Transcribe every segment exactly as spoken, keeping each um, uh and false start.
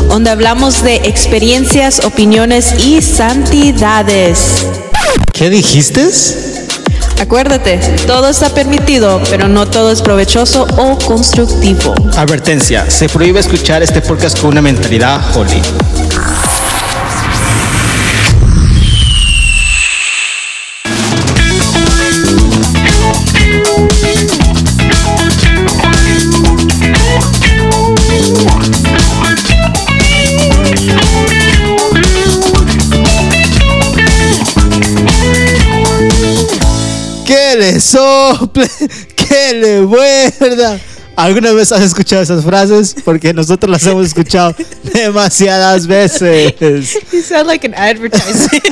donde hablamos de experiencias, opiniones y santidades. ¿Qué dijiste? Acuérdate, todo está permitido, pero no todo es provechoso o constructivo. Advertencia, se prohíbe escuchar este podcast con una mentalidad holy. Que le sople, que le muerda. ¿Alguna vez has escuchado esas frases? Porque nosotros las hemos escuchado demasiadas veces. You sound like an advertisement.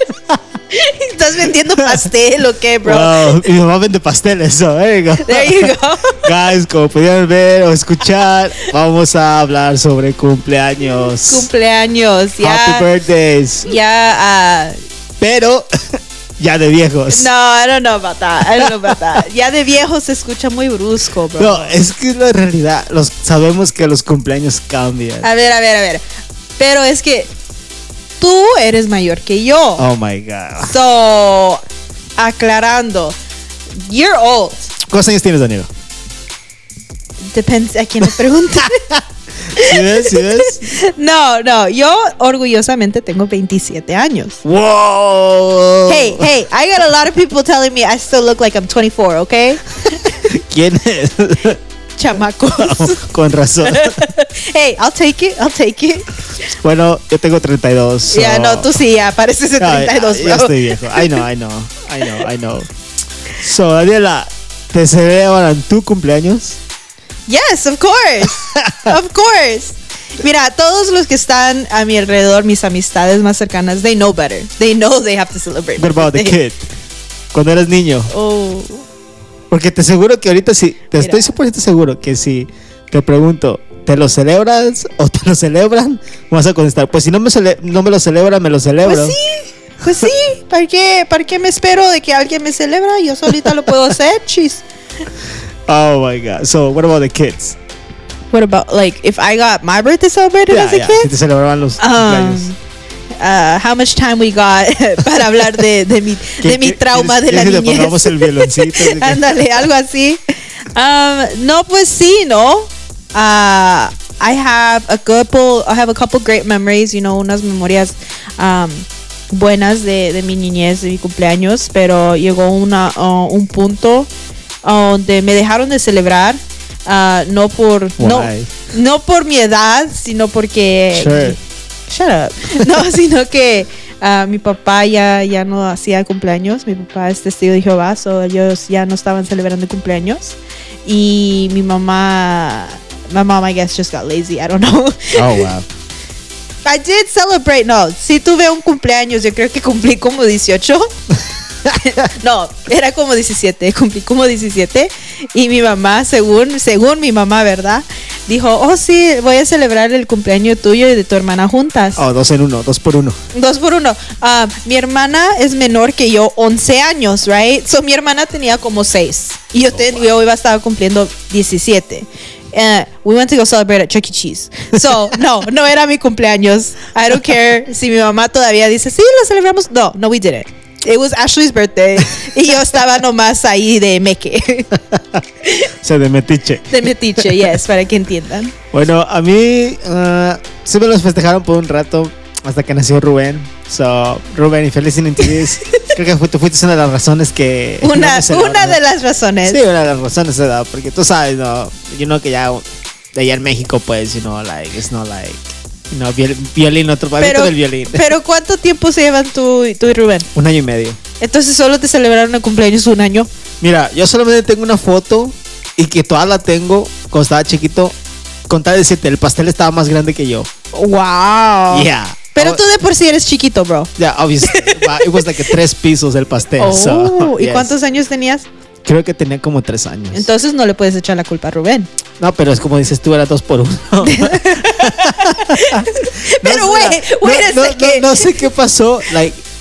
¿Estás vendiendo pastel o qué, bro? Wow, mi mamá vende pasteles, so there you go. There you go. Guys, como pudieron ver o escuchar, vamos a hablar sobre cumpleaños. Cumpleaños, ya. Happy birthdays. Ya, uh, Pero ya de viejos. no, I don't know about that. I don't know about that. Ya de viejos se escucha muy brusco, bro. No, es que la realidad, los, sabemos que los cumpleaños cambian. A ver, a ver, a ver. Pero es que tú eres mayor que yo. Oh my God. So, aclarando, you're old. ¿Cuántos años tienes, Danilo? Depende a quién le pregunte. ¿Sí ves? ¿Sí ves? No, no, yo orgullosamente tengo veintisiete años. ¡Wow! Hey, hey, I got a lot of people telling me I still look like I'm twenty-four, okay? ¿Quién es? Chamacos. Oh, con razón. Hey, I'll take it, I'll take it. Bueno, yo tengo treinta y dos. So... Ya, no, tú sí, ya pareces de treinta y dos, ya, bro. ya estoy viejo. I know, I know, I know, I know. So, Daniela, ¿te celebran tu cumpleaños? Yes, of course. Of course. Mira, todos los que están a mi alrededor, mis amistades más cercanas, they know better. They know they have to celebrate. What about the kid? Cuando eras niño. Oh. Porque te aseguro que ahorita sí, te Mira. estoy cien por ciento seguro que si te pregunto, ¿te lo celebras o te lo celebran? Vas a contestar, pues si no me, cele- no me lo celebran, me lo celebro. Pues sí, pues sí. ¿Para qué, ¿Para qué me espero de que alguien me celebra? Yo solita lo puedo hacer, chis. Oh my God. So, what about the kids? What about, like, if I got my birthday celebrated Yeah, as a yeah, kid? si te celebraban los cumpleaños. Um, uh, how much time we got para hablar de, de mi, ¿Qué- de mi qué- trauma de quieres- la quieres que le niñez? pongamos el violoncito? Ándale, algo así. Um, no, pues sí, ¿no? Uh, I have a couple, I have a couple great memories, you know, unas memorias um, buenas de, de mi niñez, de mi cumpleaños, pero llegó una, uh, un punto uh, donde me dejaron de celebrar, uh, no por, no, Why? no por mi edad, sino porque... Sure. Shut up. No, sino que uh, mi papá ya, ya no hacía cumpleaños. Mi papá es testigo de Jehová, so ellos ya no estaban celebrando cumpleaños. Y mi mamá, my mom, I guess, just got lazy. I don't know. Oh, wow. I did celebrate. No, sí tuve un cumpleaños. Yo creo que cumplí como dieciocho. No, era como diecisiete. Cumplí como diecisiete. Y mi mamá, según, según mi mamá, ¿verdad? Dijo, oh sí, voy a celebrar el cumpleaños tuyo y de tu hermana juntas. Oh, dos en uno, dos por uno. Dos por uno. Uh, mi hermana es menor que yo, once años, right? So mi hermana tenía como seis. Y yo, te, yo iba a estar cumpliendo diecisiete. Uh, we went to go celebrate at Chuck E. Cheese. So, no, no era mi cumpleaños. I don't care si mi mamá todavía dice, sí, lo celebramos. No, no, we didn't. It was Ashley's birthday. Y yo estaba nomás ahí de meque. O sea, de metiche. De metiche, yes, para que entiendan. Bueno, a mí uh, sí me los festejaron por un rato hasta que nació Rubén. So, Rubén, if you're listening to this, creo que fu- tú fuiste una de las razones que... Una, no me celebraron. una de las razones. Sí, una de las razones, ¿verdad? Porque tú sabes, ¿no? Yo know que ya de allá en México, pues, you know, like, it's not like, you know, viol- violín, otro pavito del violín. Pero ¿cuánto tiempo se llevan tú, tú y Rubén? Un año y medio. Entonces solo te celebraron el cumpleaños un año. Mira, yo solamente tengo una foto y que toda la tengo cuando estaba chiquito. Con tal de decirte, el pastel estaba más grande que yo. Wow. Yeah. Pero Oh, tú de por sí eres chiquito, bro. Yeah, obviously. It was like a tres pisos el pastel. Oh, so, ¿y yes. cuántos años tenías? Creo que tenía como tres años. Entonces no le puedes echar la culpa a Rubén. No, pero es como dices tú, era dos por uno. Pero No, wait, mira, wait no, a no, second. no, no sé qué pasó. Like,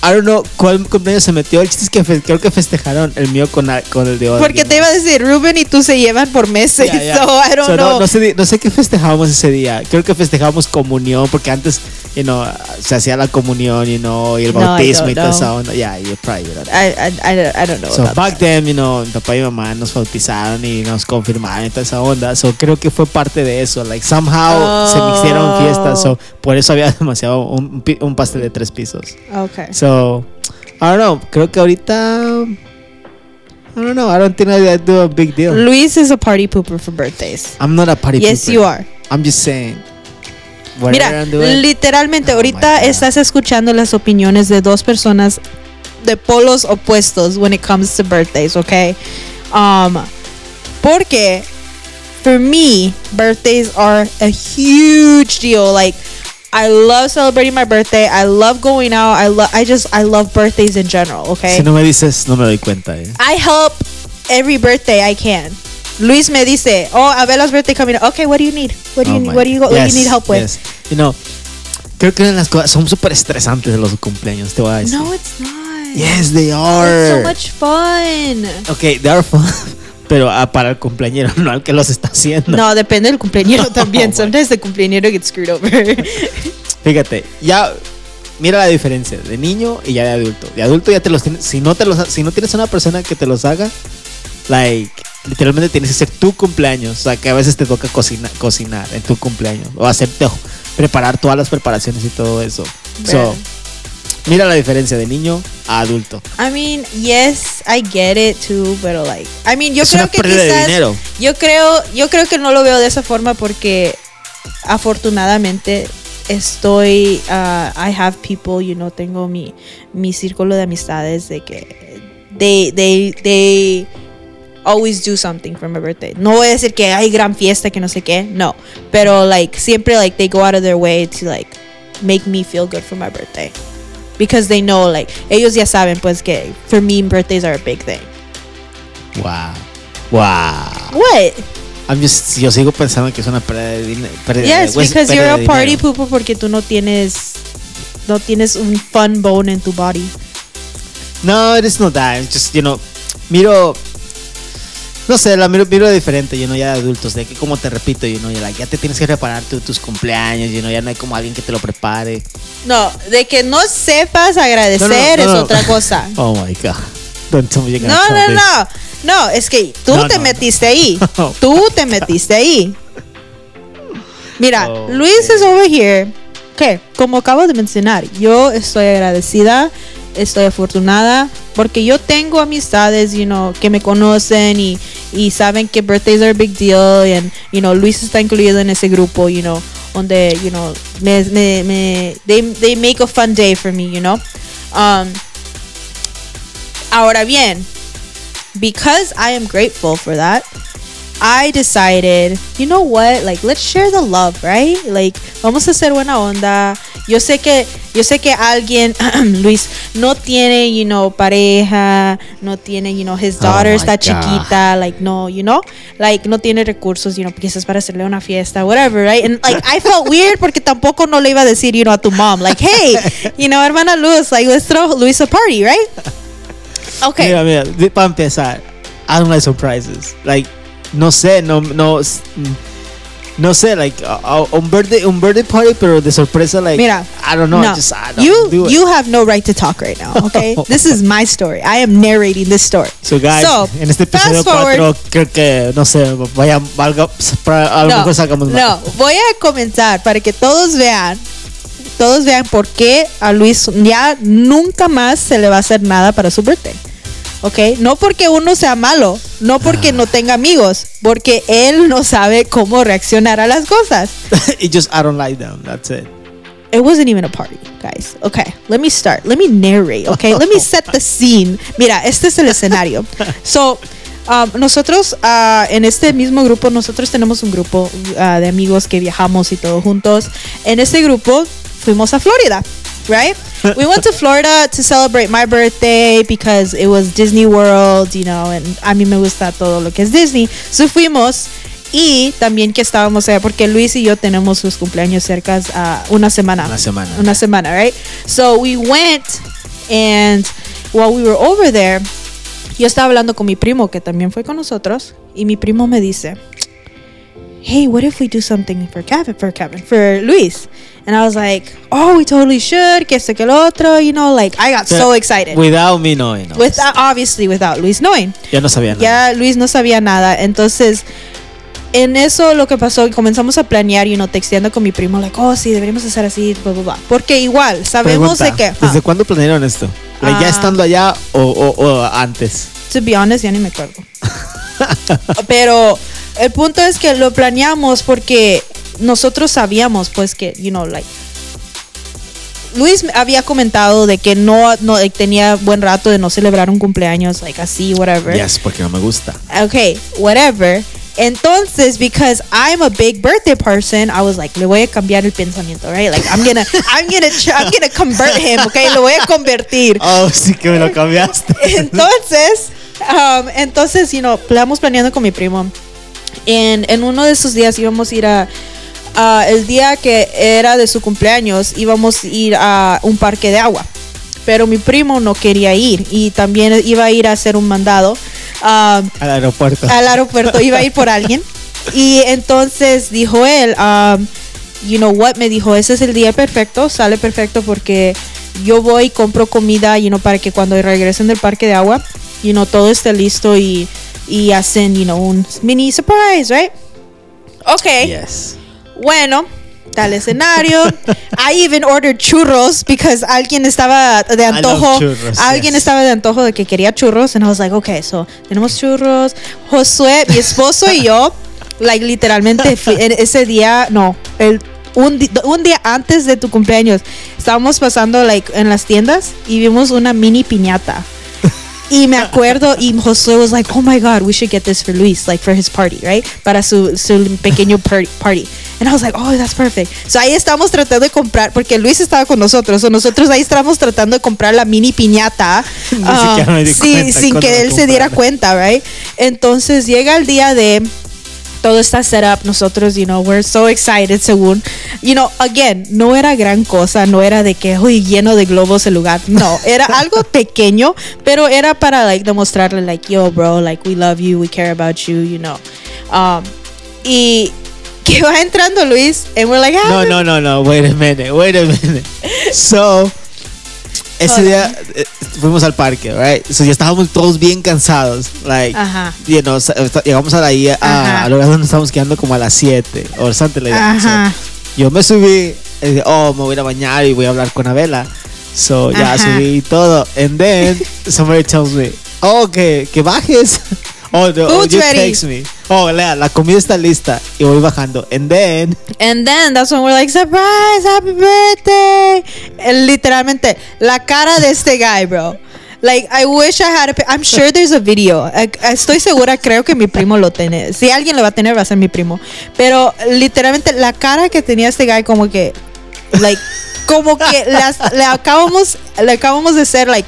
I don't know cuál cumpleaños se metió. El chiste es que fe- creo que festejaron el mío con, a- con el de hoy. Porque te iba a decir, Ruben y tú se llevan por meses. Yeah, yeah. So I don't So, know. No, no, sé, di- no sé qué festejábamos ese día. Creo que festejábamos comunión, porque antes, you know, se hacía la comunión, you know, y el No, I bautismo don't y toda know. esa onda. Yeah, you probably don't. I, I, I, don't- I don't know. So about back that. then, you know, mi papá y mi mamá nos bautizaron y nos confirmaron y toda esa onda. So creo que fue parte de eso. Like somehow Oh. se mixieron fiestas. So por eso había demasiado un, pi- un pastel de tres pisos. Okay. So I don't know. Creo que ahorita I don't know. I don't think I do a big deal. Luis is a party pooper for birthdays. I'm not a party Yes, pooper. you are. I'm just saying. Whatever Mira, I'm doing. literalmente, Oh ahorita my God. estás escuchando las opiniones de dos personas de polos opuestos when it comes to birthdays, okay? Um, porque for me, birthdays are a huge deal. Like, I love celebrating my birthday. I love going out. I love. I just. I love birthdays in general. Okay. Si no me dices, no me doy cuenta. Eh. I help every birthday I can. Luis me dice, oh, Abela's birthday coming up. Okay, what do you need? What do you Oh need? my- What do you what do Yes, you need help with? yes. You know, creo que una de las cosas son súper estresantes de los cumpleaños, te voy a decir. No, it's not. Yes, they are. It's so much fun. Okay, they are fun. Pero ah, para el cumpleañero, no al que los está haciendo. No, depende del cumpleañero No, también. güey. Sometimes the cumpleañero gets screwed over. Fíjate, ya mira la diferencia de niño y ya de adulto. De adulto ya te los tienes, si no te los si no tienes una persona que te los haga, like literalmente tienes que ser tu cumpleaños, o sea, que a veces te toca cocina, cocinar en tu cumpleaños o hacerte preparar todas las preparaciones y todo eso. So, Bueno. mira la diferencia de niño a adulto. I mean, yes, I get it too, pero like, I mean, yo Es creo una que pérdida de quizás, dinero. yo creo, yo creo que no lo veo de esa forma porque afortunadamente estoy, uh, I have people, you know, tengo mi, mi círculo de amistades de que they, they, they always do something for my birthday. No voy a decir que hay gran fiesta, que no sé qué, no, pero like siempre like they go out of their way to like make me feel good for my birthday. Because they know, like, ellos ya saben, pues, que for me, birthdays are a big thing. Wow. Wow. What? I'm just, yo sigo pensando que es una pérdida de dinero. Yes, because you're a party pooper porque tú no tienes, no tienes un fun bone en tu body. No, it is not that. It's just, you know, miro, no sé, la miro, miro diferente, you know, ya de adultos, de que como te repito, you know, ya, like, ya te tienes que preparar tu- tus cumpleaños, you know, ya no hay como alguien que te lo prepare. No, de que no sepas agradecer No, no, no, es no. otra cosa. Oh my God. Don't tell me you're No, gonna no, tell this. no. No, es que tú No, te no, no. metiste ahí. Oh Tú te metiste ahí. Mira, Oh, Luis okay. is over here. ¿Qué? Como acabo de mencionar, yo estoy agradecida, estoy afortunada porque yo tengo amistades, you know, que me conocen y, y saben que birthdays are a big deal and, you know, Luis está incluido en ese grupo, you know, donde, you know, me, me, me, they, they make a fun day for me, you know. Um, ahora bien, because I am grateful for that, I decided, you know what, like, let's share the love, right? Like, vamos a hacer buena onda. Yo sé que, yo sé que alguien, Luis, no tiene, you know, pareja, no tiene, you know, his daughter Oh my está God. chiquita, like, no, you know, like, no tiene recursos, you know, quizás para hacerle una fiesta, whatever, right? And, like, I felt weird porque tampoco no le iba a decir, you know, a tu mom, like, hey, you know, hermana Luz, like, let's throw Luis a party, right? Okay. Mira, mira, de- para empezar, I don't like surprises. Like, no sé, no, no, s- no sé, like, a, a- un birthday, un birthday party, pero de sorpresa, like, Mira, I don't know, no. just, I don't you do it. you have no right to talk right now, okay? This is my story. I am narrating this story. So guys, So, en este episodio fast forward. cuatro creo que, no sé, vaya, valga, para, a lo No, mejor sacamos más. no, voy a comenzar para que todos vean, todos vean por qué a Luis ya nunca más se le va a hacer nada para su birthday. ¿Ok? No porque uno sea malo, no porque no tenga amigos, porque él no sabe cómo reaccionar a las cosas. It just, I don't like them, that's it. It wasn't even a party, guys. Okay, let me start. Let me narrate, okay? Let me set the scene. Mira, este es el escenario. So, um, nosotros, uh, en este mismo grupo, nosotros tenemos un grupo uh, de amigos que viajamos y todo juntos. En este grupo fuimos a Florida, right? We went to Florida to celebrate my birthday because it was Disney World, you know, and a mí me gusta todo lo que es Disney. So fuimos. Y también que estábamos allá porque Luis y yo tenemos sus cumpleaños cerca a una semana. Una semana. Una semana, right? So we went And while we were over there, yo estaba hablando con mi primo, que también fue con nosotros, y mi primo me dice, hey, what if we do something for Kevin, for Kevin, for Luis? And I was like, oh, we totally should, que esto, que lo otro, you know, like, I got so, so excited. Without me knowing. No. Without, obviously, without Luis knowing. Ya no sabía nada. Ya Luis no sabía nada, entonces... En eso lo que pasó, comenzamos a planear, y you know, texteando con mi primo, like, oh, sí, deberíamos hacer así, bla, bla, bla. Porque igual, sabemos Pregunta, de que... ¿Desde ah, cuándo planearon esto? Like, ¿ya Ah. estando allá o, o, o antes? To be honest, ya ni me acuerdo. Pero el punto es que lo planeamos porque nosotros sabíamos, pues, que, you know, like... Luis había comentado de que no, no like, tenía buen rato de no celebrar un cumpleaños, like, así, whatever. Yes, porque no me gusta. Okay, whatever. Entonces, because I'm a big birthday person, I was like, le voy a cambiar el pensamiento, right? Like, I'm gonna, I'm gonna, I'm gonna convert him, okay? Lo voy a convertir. Oh, sí que me lo cambiaste. Entonces, um, entonces, you know, estamos planeando con mi primo. En, en uno de esos días íbamos a ir a, a, el día que era de su cumpleaños, íbamos a ir a un parque de agua. Pero mi primo no quería ir y también iba a ir a hacer un mandado. Um, al aeropuerto. Al aeropuerto, iba a ir por alguien. Y entonces dijo él, um, you know what, me dijo, ese es el día perfecto, sale perfecto porque yo voy y compro comida, you know, para que cuando regresen del parque de agua, you know, todo esté listo y, y hacen, you know, un mini surprise, right? Ok. Yes. Bueno, tal escenario. I even ordered churros because alguien estaba de antojo. Churros, alguien yes. estaba de antojo de que quería churros. And I was like, okay, so tenemos churros. Josué, mi esposo y yo, like literalmente en ese día, no, el un, di un día antes de tu cumpleaños, estábamos pasando like en las tiendas y vimos una mini piñata. Y me acuerdo, y Josué was like, oh my God, we should get this for Luis, like for his party, right? Para su, su pequeño party. And I was like, oh, that's perfect. So ahí estamos tratando de comprar, porque Luis estaba con nosotros, o nosotros ahí estábamos tratando de comprar la mini piñata. Ni um, siquiera me di sí, cuenta sin cuando que la él se diera compraron. cuenta, right? Entonces llega el día de... Todo está set up, nosotros, you know, we're so excited, según, you know, again, no era gran cosa, no era de que, uy, lleno de globos el lugar, no, era algo pequeño, pero era para, like, demostrarle, like, yo, bro, like, we love you, we care about you, you know, um, y que va entrando Luis, and we're like, ah, No, no, no, no, wait a minute, wait a minute. So, ese Hold día eh, fuimos al parque, right? So ya estábamos todos bien cansados, like, Ajá. you know, sa- llegamos a la a, Ajá. a lugar donde estábamos quedando como a las siete o antes la idea. Ajá. So, yo me subí, y dije, oh, me voy a ir a bañar y voy a hablar con Abela. So ya Ajá. subí todo, and then somebody tells me, oh, que, que bajes. Oh, no, oh, Food's you ready. text me. Oh, Lea, la comida está lista y voy bajando, and then And then that's when we're like, surprise, happy birthday. And literalmente, la cara de este guy, bro. Like, I wish I had a... I'm sure there's a video. I- Estoy segura, creo que mi primo lo tiene. Si alguien lo va a tener, va a ser mi primo. Pero literalmente, la cara que tenía este guy como que... Like, como que las, le acabamos... Le acabamos de hacer, like...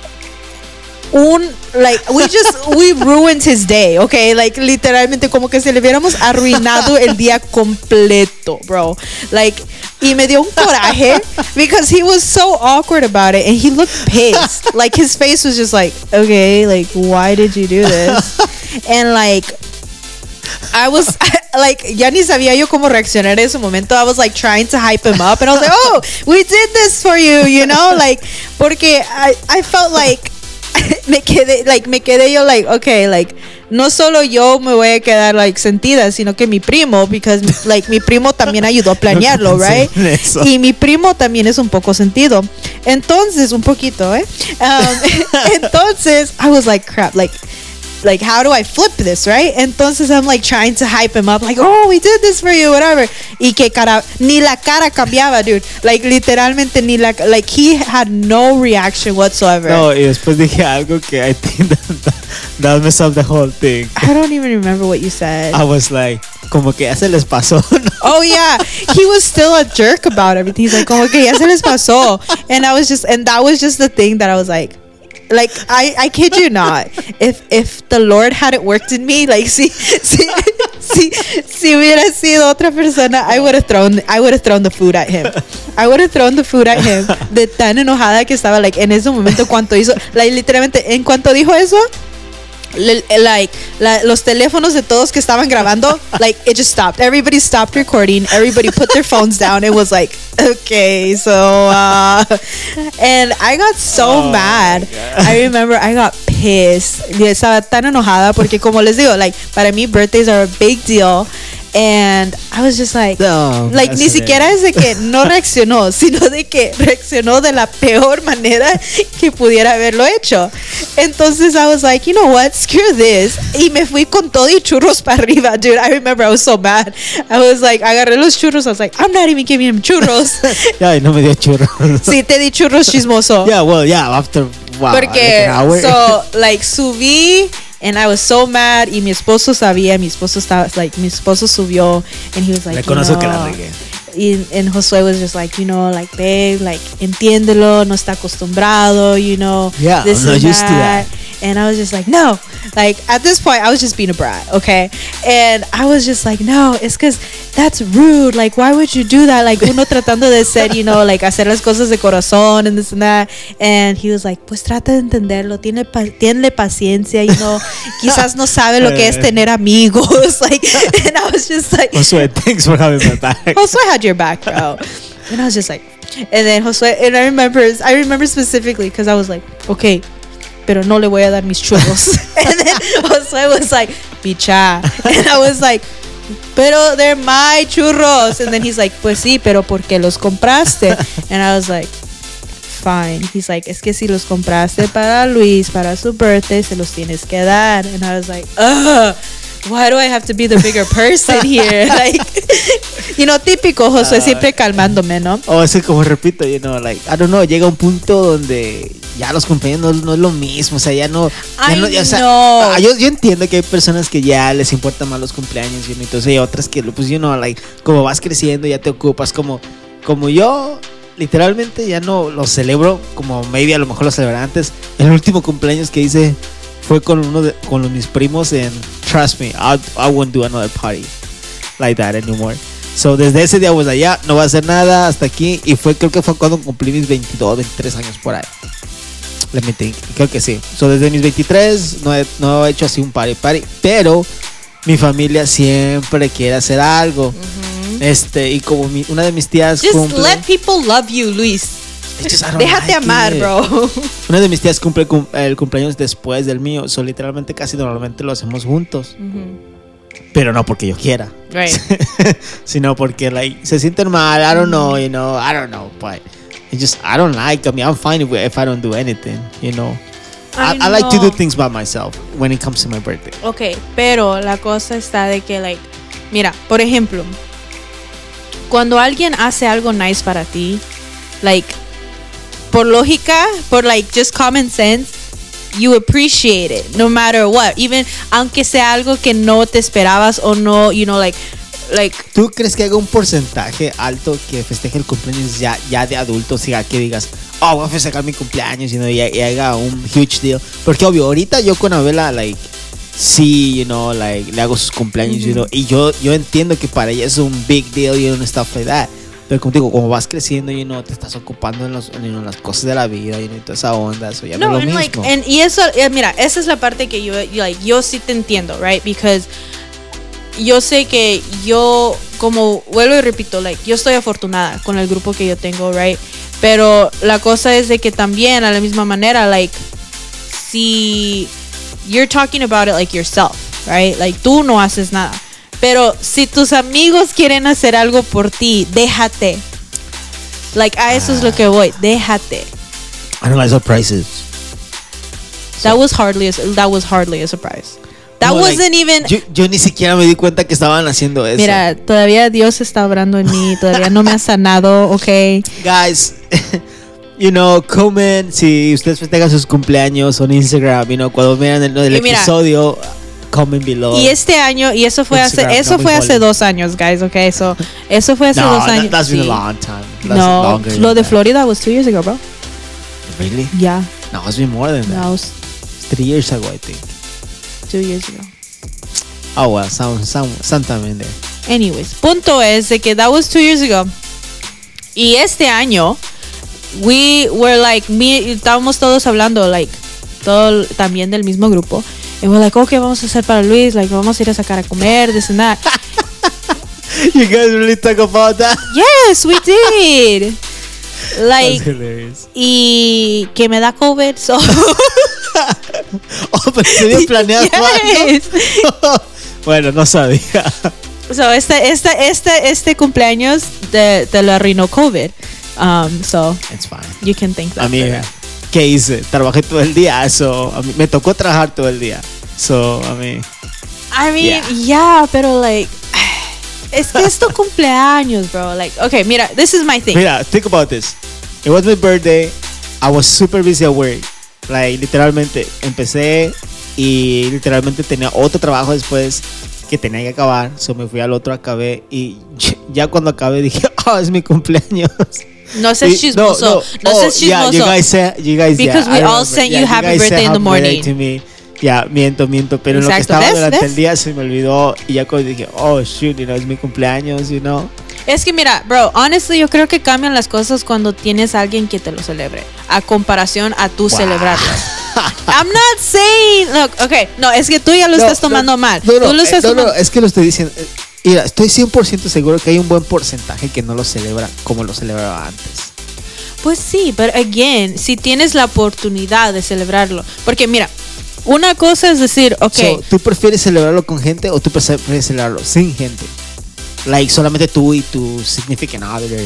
Un... Like, we just... We ruined his day, okay? Like, literalmente, como que se le hubiéramos arruinado el día completo, bro. Like... Y me dio un coraje because he was so awkward about it and he looked pissed. Like his face was just like, okay, like why did you do this? And like I was like, ya ni sabía yo cómo reaccionar en ese momento. I was like trying to hype him up and I was like, oh, we did this for you, you know? Like, porque I, I felt like me quedé, like, me quedé yo like, okay, like, no solo yo me voy a quedar like sentida, sino que mi primo, because like mi primo también ayudó a planearlo, No right? pensé en eso. Y mi primo también es un poco sentido. Entonces, un poquito, ¿eh? Um, entonces, I was like, crap, like, like, how do I flip this, right? Entonces, I'm like trying to hype him up, like, oh, we did this for you, whatever. Y que cara, ni la cara cambiaba, dude. Like, literalmente, ni la, like, he had no reaction whatsoever. no, y después dije algo que I think that, that messed up the whole thing. I don't even remember what you said. I was like, como que ya se les pasó, ¿no? Oh yeah, he was still a jerk about everything. He's like, como que ya se les pasó. And I was just, and that was just the thing that I was like, like I, I kid you not. If if the Lord hadn't worked in me, like si si si, si si hubiera sido otra persona, I would have thrown, I would have thrown the food at him. I would have thrown the food at him. De tan enojada que estaba, like, en ese momento cuando hizo, like, literalmente, en cuanto dijo eso, le- like, la- los teléfonos de todos que estaban grabando, like, it just stopped. Everybody stopped recording. Everybody put their phones down. It was like, okay, so, uh, and I got so Oh, mad. my God. I remember I got pissed. Y estaba tan enojada porque, como les digo, like, para mí birthdays are a big deal. And I was just like, No, like, that's ni it. siquiera es de que no reaccionó, sino de que reaccionó de la peor manera que pudiera haberlo hecho. Entonces I was like, you know what, screw this. Y me fui con todo y churros para arriba, dude. I remember I was so mad. I was like, agarré los churros. I was like, I'm not even giving him churros. Ya, y no me dio churro. Sí, te di churros, chismoso. Yeah, well, yeah, after, wow, like Porque, an hour. so, like, subí, and I was so mad, y mi esposo sabía, mi esposo estaba, like, mi esposo subió, and he was like, you Reconozco que la know, regué. y, and Josué was just like, you know, like, babe, like, entiéndelo, no está acostumbrado, you know, Yeah, this I'm not and used to that. that. And I was just like, no. Like, at this point, I was just being a brat, okay? And I was just like, no, it's because that's rude. Like, why would you do that? Like, uno tratando de ser, you know, like, hacer las cosas de corazón and this and that. And he was like, pues trata de entenderlo. Tiene pa tiene paciencia, you know. Quizás no sabe lo que es tener amigos. Like, and I was just like, Josué, thanks for having my back. Josué had your back, bro. And I was just like, and then Josué, and I remember, I remember specifically because I was like, okay, pero no le voy a dar mis churros. And then Josué was like, picha. And I was like, pero they're my churros. And then he's like, pues sí, pero ¿por qué los compraste? And I was like, fine. He's like, es que si los compraste para Luis, para su birthday, se los tienes que dar. And I was like, ugh. Why do I have to be the bigger person here? Like, you know, típico Josué, Uh, siempre calmándome, ¿no? O es que, como repito, you know, like, I don't know, llega un punto donde ya los cumpleaños no, no es lo mismo, o sea, ya no, ya I no, ya, o sea, know. ah, yo, yo entiendo que hay personas que ya les importan más los cumpleaños, you know, entonces hay otras que, pues, you know, like, como vas creciendo ya te ocupas, como, como yo, literalmente ya no lo celebro, como maybe a lo mejor lo celebré antes. El último cumpleaños que hice fue con uno de, con los, mis primos, en trust me, I, I won't do another party like that anymore. So desde ese día, pues allá no va a hacer nada hasta aquí. Y fue, creo que fue cuando cumplí mis veintidós, veintitrés años por ahí. Let me think, creo que sí. So desde mis veintitrés no he, no he hecho así un party party. Pero mi familia siempre quiere hacer algo. Mm-hmm. Este, y como mi, una de mis tías Just cumple, let people love you, Luis. It's just, I don't Déjate like amar, it. bro. Una de mis tías cumple cum- el cumpleaños después del mío. So literalmente casi normalmente lo hacemos juntos. Pero no porque yo quiera. Right. Sino porque, like, se sienten mal. I don't know, you know. I don't know, but it just, I don't like. I mean, I'm fine if, if I don't do anything, you know. I, I I like to know. do things by myself when it comes to my birthday. Ok, pero la cosa está de que, like, mira, por ejemplo, cuando alguien hace algo nice para ti, like, por lógica, por, like, just common sense, you appreciate it no matter what, even aunque sea algo que no te esperabas o no, you know, like, like, ¿Tú crees que haga un porcentaje alto que festeje el cumpleaños ya, ya de adulto? O sea, que digas, oh, voy a festejar mi cumpleaños, you know, y, y haga un huge deal. Porque obvio, ahorita yo con Abela, like, sí, you know, like, le hago sus cumpleaños, you know, y yo, yo entiendo que para ella es un big deal, you know, and stuff like that. Pero como te digo, como vas creciendo, you know, te estás ocupando en, los, en you know, las cosas de la vida, you know, y toda esa onda, eso ya no, no, es lo and, mismo. like, and, y eso, eh, mira, esa es la parte que yo, yo, like, yo sí te entiendo, right? Because yo sé que yo, como vuelvo y repito, like, yo estoy afortunada con el grupo que yo tengo, right? Pero la cosa es de que también, a la misma manera, like, si you're talking about it like yourself, right? Like, tú no haces nada. Pero si tus amigos quieren hacer algo por ti, déjate. Like, a eso es lo que voy, déjate. I don't like surprises. That was hardly a, that was hardly a surprise. That No, like, wasn't even. Yo, yo ni siquiera me di cuenta que estaban haciendo eso. Mira, todavía Dios está obrando en mí, todavía no me ha sanado, ok. Guys, you know, comen si ustedes festejan sus cumpleaños en Instagram, you know, cuando vean el, el Y mira, episodio, comment below. Y este año, y eso fue Instagram, hace, eso no fue muy hace holy. dos años, guys, ok. So, eso fue hace no, dos that- años. that's been sí. a long time. That's No, longer lo than de that. Florida was two years ago, bro. Really? Yeah, No, it's been more than that. no, it was It's three years ago, I think. two years ago. Oh well, some, some, sometime in there. Anyways, punto es de que that was two years ago. Y este año, we were like, me, estábamos todos hablando, like, todo también del mismo grupo. Y we're like, okay, vamos a hacer para Luis, like, vamos a ir a sacar a comer, this and that. You guys really talk about that? Yes, we did. Like, That's hilarious. y que me da COVID, so. Oh, pero se había planeado Yes. algo. Bueno, no sabía. So, este, este, este, este cumpleaños te, te lo arruinó COVID. Um, so, It's fine. you can think that. Amiga, ¿qué hice? Trabajé todo el día, so, a mí, me tocó trabajar todo el día. So, a mí... I mean, Yeah. yeah, pero like, es que es tu cumpleaños, bro. Like, okay, mira, this is my thing. Mira, think about this. It was my birthday. I was super busy at work. Like, literalmente, empecé y literalmente tenía otro trabajo después que tenía que acabar. So, me fui al otro, acabé y ya cuando acabé dije, oh, es mi cumpleaños. No seas chismoso. No, oh, seas yeah, chismoso. you guys said, you guys, Because yeah, we I all remember. sent Yeah, you happy guys said birthday in the happy birthday morning. to me. Ya, miento, miento, pero en lo que Exacto. estaba ¿Ves? durante ¿Ves? el día se me olvidó y ya cuando dije, oh, shoot, you know, es mi cumpleaños, you know. Es que mira, bro, honestly, yo creo que cambian las cosas cuando tienes a alguien que te lo celebre, a comparación a tú Wow. celebrarlo. I'm not saying, look, okay, no, es que tú ya lo No, estás no, tomando mal. No, no, tú lo eh, estás no, no, tomando. es que lo estoy diciendo. eh, Mira, estoy cien por ciento seguro que hay un buen porcentaje que no lo celebra como lo celebraba antes. Pues sí, pero again, si tienes la oportunidad de celebrarlo, porque mira, una cosa es decir, okay, So, ¿tú prefieres celebrarlo con gente o tú prefieres celebrarlo sin gente? Like, solamente tú y tu significant other.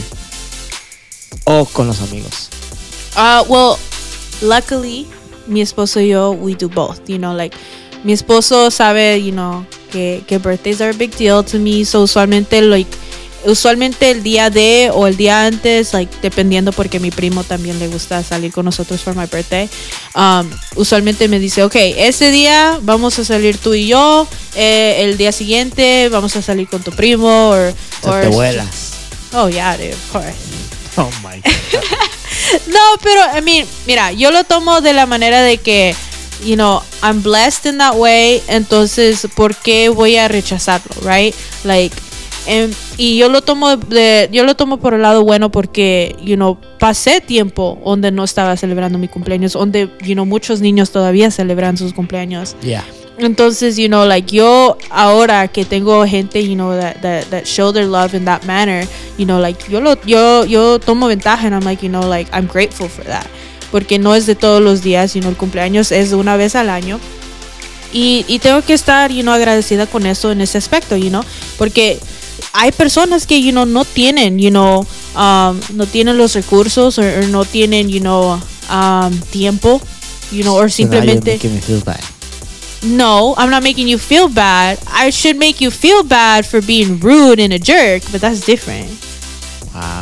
O con los amigos. Uh, well, luckily, mi esposo y yo, we do both, you know, like, mi esposo sabe, you know, que, que birthdays are a big deal to me, so usualmente, like, usualmente el día de o el día antes, like, dependiendo porque mi primo también le gusta salir con nosotros for my birthday, um, usualmente me dice, ok, ese día vamos a salir tú y yo, eh, el día siguiente vamos a salir con tu primo, or, O sea, or te vuelas. Oh, yeah, dude, of course. Oh my God. No, pero, I mean, mira, yo lo tomo de la manera de que, you know, I'm blessed in that way, entonces, ¿por qué voy a rechazarlo, right? Like, em, y yo lo tomo de, yo lo tomo por el lado bueno porque, you know, pasé tiempo donde no estaba celebrando mi cumpleaños, donde, you know, muchos niños todavía celebran sus cumpleaños. Yeah. Entonces, you know, like yo ahora que tengo gente, you know, that, that, that show their love in that manner, you know, like yo lo, yo, yo tomo ventaja and I'm like, you know, like I'm grateful for that. Porque no es de todos los días, you know, el cumpleaños es de una vez al año. Y, y tengo que estar, you know, agradecida con eso en ese aspecto, you know, porque hay personas que, you know, no tienen, you know, um, no tienen los recursos o no tienen, you know, um, tiempo, you know, or So now you're simplemente... making me feel bad. No, I'm not making you feel bad. I should make you feel bad for being rude and a jerk, but that's different. Wow.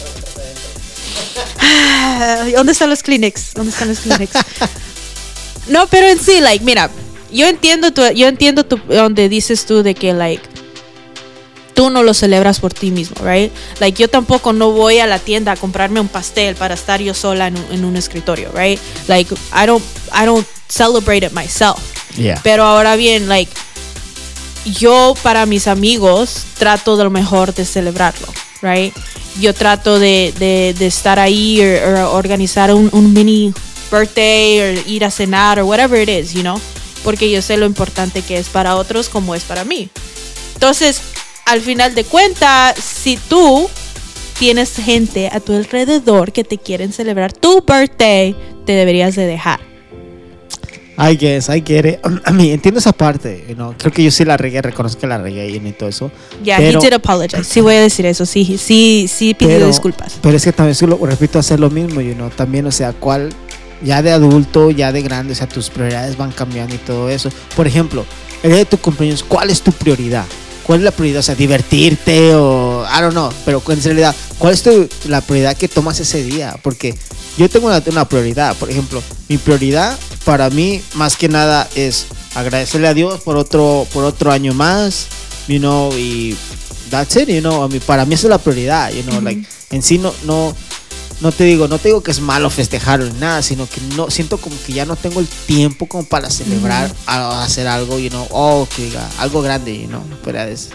¿Dónde están los Kleenex? ¿Dónde están los Kleenex? No, pero en sí, like, mira, yo entiendo tu, yo entiendo tu, donde dices tú de que, like, tú no lo celebras por ti mismo, right? Like, yo tampoco no voy a la tienda a comprarme un pastel para estar yo sola en un, en un escritorio, right? Like, I don't, I don't celebrate it myself. Yeah. Pero ahora bien, like, yo para mis amigos trato de lo mejor de celebrarlo, right? Yo trato de, de, de estar ahí o organizar un, un mini birthday o ir a cenar o whatever it is, you know? Porque yo sé lo importante que es para otros como es para mí. Entonces, al final de cuentas, si tú tienes gente a tu alrededor que te quieren celebrar tu birthday, te deberías de dejar. I guess, I get it. A mí, entiendo esa parte, you know. Creo que yo sí la regué, reconozco que la regué y todo eso. Yeah, pero, he did apologize. Sí voy a decir eso, sí, sí, sí pidió pero, disculpas. Pero es que también, sí lo, repito, hacer lo mismo, you know. También, o sea, cuál, ya de adulto, ya de grande, o sea, tus prioridades van cambiando y todo eso. Por ejemplo, el día de tu cumpleaños, ¿cuál es tu prioridad? ¿Cuál es la prioridad? O sea, divertirte o, I don't know, pero en realidad, ¿cuál es tu, la prioridad que tomas ese día? Porque yo tengo una, una prioridad, por ejemplo, mi prioridad para mí, más que nada, es agradecerle a Dios por otro, por otro año más, you know, y that's it, you know, a mí, para mí esa es la prioridad, you know, Uh-huh. like, en sí no, no, no te digo, no te digo que es malo festejar ni nada, sino que no, siento como que ya no tengo el tiempo como para celebrar, Uh-huh. a, a hacer algo, you know, oh, que diga, algo grande, you know, pero es,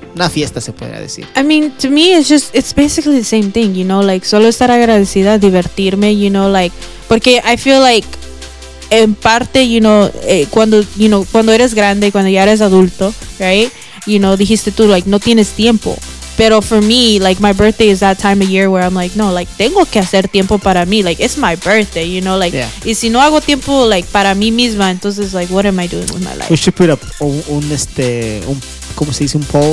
una fiesta se podría decir. I mean, to me, it's just, it's basically the same thing, you know, like, solo estar agradecida, divertirme, you know, like, porque I feel like, en parte, you know, eh, cuando, you know, cuando eres grande, cuando ya eres adulto, right, you know, dijiste tú, like, no tienes tiempo. Pero for me, like, my birthday is that time of year where I'm like, no, like, tengo que hacer tiempo para mí. Like, it's my birthday, you know, like, Yeah. y si no hago tiempo, like, para mí misma, entonces, like, what am I doing with my life? We should put up un, un este, un, ¿cómo se dice? Un poll.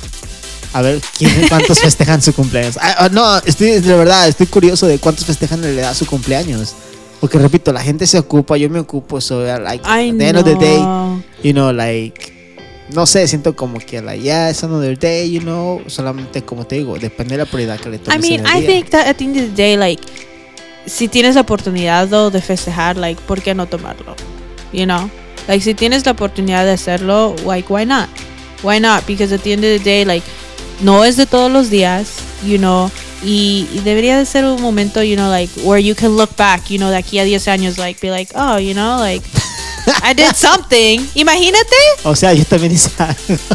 A ver, ¿quién, ¿cuántos festejan su cumpleaños? Ah, ah, no, estoy, de verdad, estoy curioso de cuántos festejan en realidad su cumpleaños. Porque, repito, la gente se ocupa, yo me ocupo, so, like, I at the end of the day, know. you know, like, no sé, siento como que, like, yeah, it's another day, you know, solamente, como te digo, depende de la prioridad que le tomes I mean, en el I día. think that at the end of the day, like, si tienes la oportunidad though, de festejar, like, ¿por qué no tomarlo? You know? Like, si tienes la oportunidad de hacerlo, like, why not? Why not? Because at the end of the day, like, no es de todos los días, you know, y, y debería de ser un momento, you know, like, where you can look back, you know, de aquí a diez años, like, be like, oh, you know, like, I did something. Imagínate. O sea, yo también hice algo.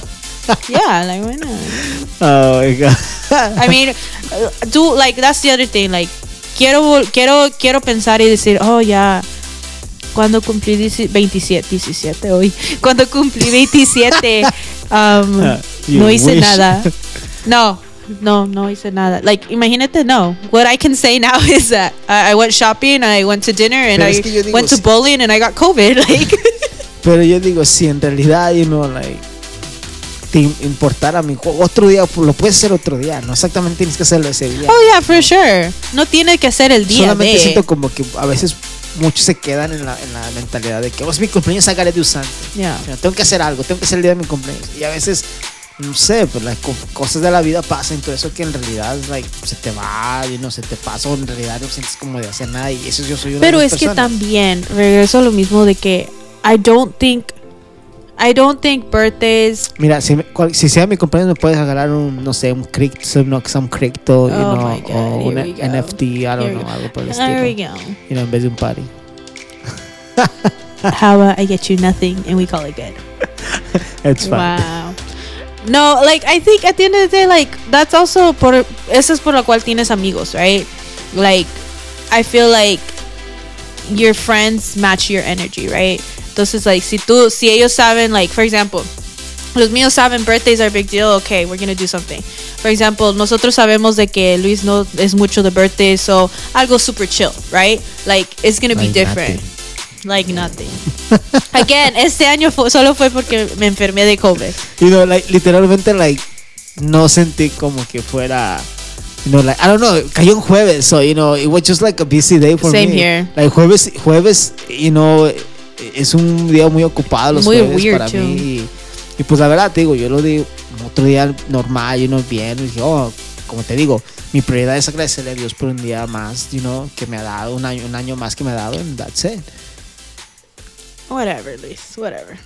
Yeah, like, why not? Oh my God. I mean, uh, do like that's the other thing. Like, quiero vol- quiero quiero pensar y decir, oh ya, cuando cumplí dieci- veintisiete, diecisiete hoy, cuando cumplí veintisiete, um, Uh, you no hice wish. nada. No, no, no hice nada. Like, imagínate, no. What I can say now is that I, I went shopping, I went to dinner, and Pero I es que yo digo, went to si- bowling, and I got COVID. Like, Pero yo digo, si en realidad, you know, like, te importara mi juego, otro día, lo puedes hacer otro día, no exactamente tienes que hacerlo ese día. oh yeah, for sure. No tiene que ser el día Solamente de. siento como que a veces muchos se quedan en la, en la mentalidad de que, oh, es mi cumpleaños, I gotta do something. Yeah. You know, tengo que hacer algo, tengo que hacer el día de mi cumpleaños. Y a veces, no sé, pues las co- cosas de la vida pasan y todo eso que en realidad, like, se te va y no se te pasa, o en realidad no sientes como de hacer nada. Y eso yo soy una Pero de es esas que personas. también regreso a lo mismo de que I don't think I don't think birthdays. Mira, si, me- cual- si sea mi cumpleaños me puedes regalar un, no sé, un crypto, some, some crypto, you Oh know, my God, o un here we go. N F T, I don't Here we know, go. algo por el There we estilo. go. You know, en vez de un party. How about I get you nothing and we call it good? It's fine. Wow. No, like I think at the end of the day, like that's also por eso es por lo cual tienes amigos, right? Like I feel like your friends match your energy, right? Entonces, like si tú, si ellos saben, like for example, los míos saben birthdays are a big deal, okay, we're gonna do something. For example, nosotros sabemos de que Luis no es mucho de birthdays, so algo super chill, right? Like it's gonna be Like different. nothing. Like nothing. Again, este año fue, solo fue porque me enfermé de COVID. You know, like, literalmente, like, no sentí como que fuera, you know, like, I don't know, cayó un jueves, so, you know, it was just like a busy day for Same me. here. Like, jueves, jueves, you know, es un día muy ocupado los Muy jueves weird, para too. mí. Y, y pues la verdad, te digo, yo lo di otro día normal, you know, bien, y dije, oh, como te digo, mi prioridad es agradecerle a Dios por un día más, you know, que me ha dado, un año, un año más que me ha dado, and that's it. Whatever, Luis, whatever.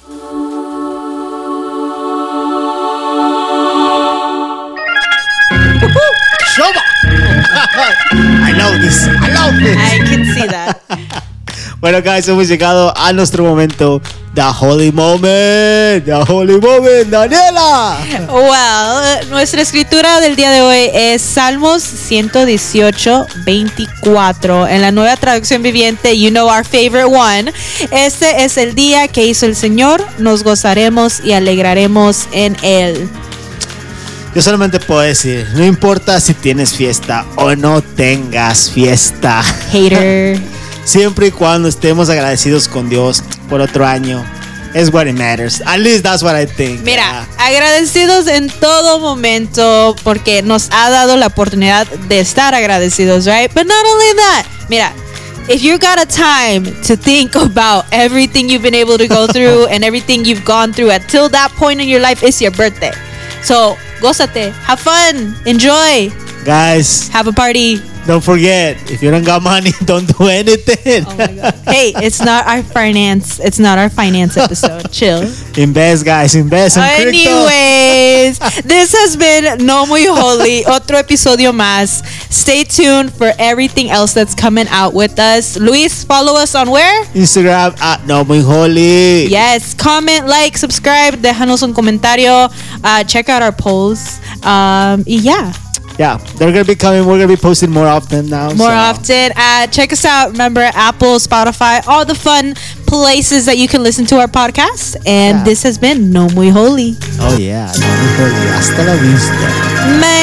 Shova! I love this, I love this. I can see that. Bueno, guys, hemos llegado a nuestro momento, the holy moment, the holy moment, Daniela. Well, nuestra escritura del día de hoy es Salmos ciento dieciocho, veinticuatro. En la nueva traducción viviente, you know our favorite one. Este es el día que hizo el Señor, nos gozaremos y alegraremos en él. Yo solamente puedo decir, no importa si tienes fiesta o no tengas fiesta, Hater. siempre y cuando estemos agradecidos con Dios por otro año, es what it matters. At least that's what I think. Mira, agradecidos en todo momento porque nos ha dado la oportunidad de estar agradecidos, right? But not only that, mira, if you got a time to think about everything you've been able to go through and everything you've gone through until that point in your life, it's your birthday. So, gózate, have fun, enjoy, Guys, have a party. don't forget, if you don't got money, don't do anything. Oh my God. Hey, it's not our finance. It's not our finance episode. Chill. Invest, guys. Invest in crypto. Anyways, this has been No Muy Holy. Otro episodio más. Stay tuned for everything else that's coming out with us. Luis, follow us on where? Instagram at No Muy Holy. Yes. Comment, like, subscribe. Déjanos un comentario. Uh, check out our polls. Um, y yeah. Yeah, they're gonna be coming. We're gonna be posting more often now. More so. often. Uh, check us out. Remember, Apple, Spotify, all the fun places that you can listen to our podcast. And Yeah. this has been No Muy Holy. Oh yeah, No Muy Holy. Hasta la vista. Man.